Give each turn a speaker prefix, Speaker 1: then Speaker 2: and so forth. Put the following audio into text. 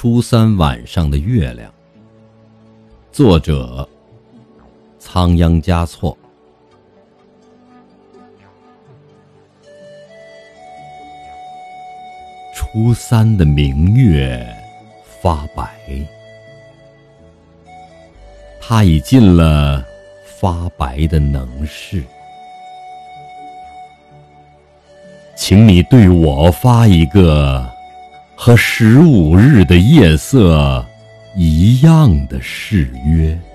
Speaker 1: 初三晚上的月亮，作者仓央嘉措。初三的明月发白，它已进了发白的能事。请你对我发一个和15日的夜色一样的誓约。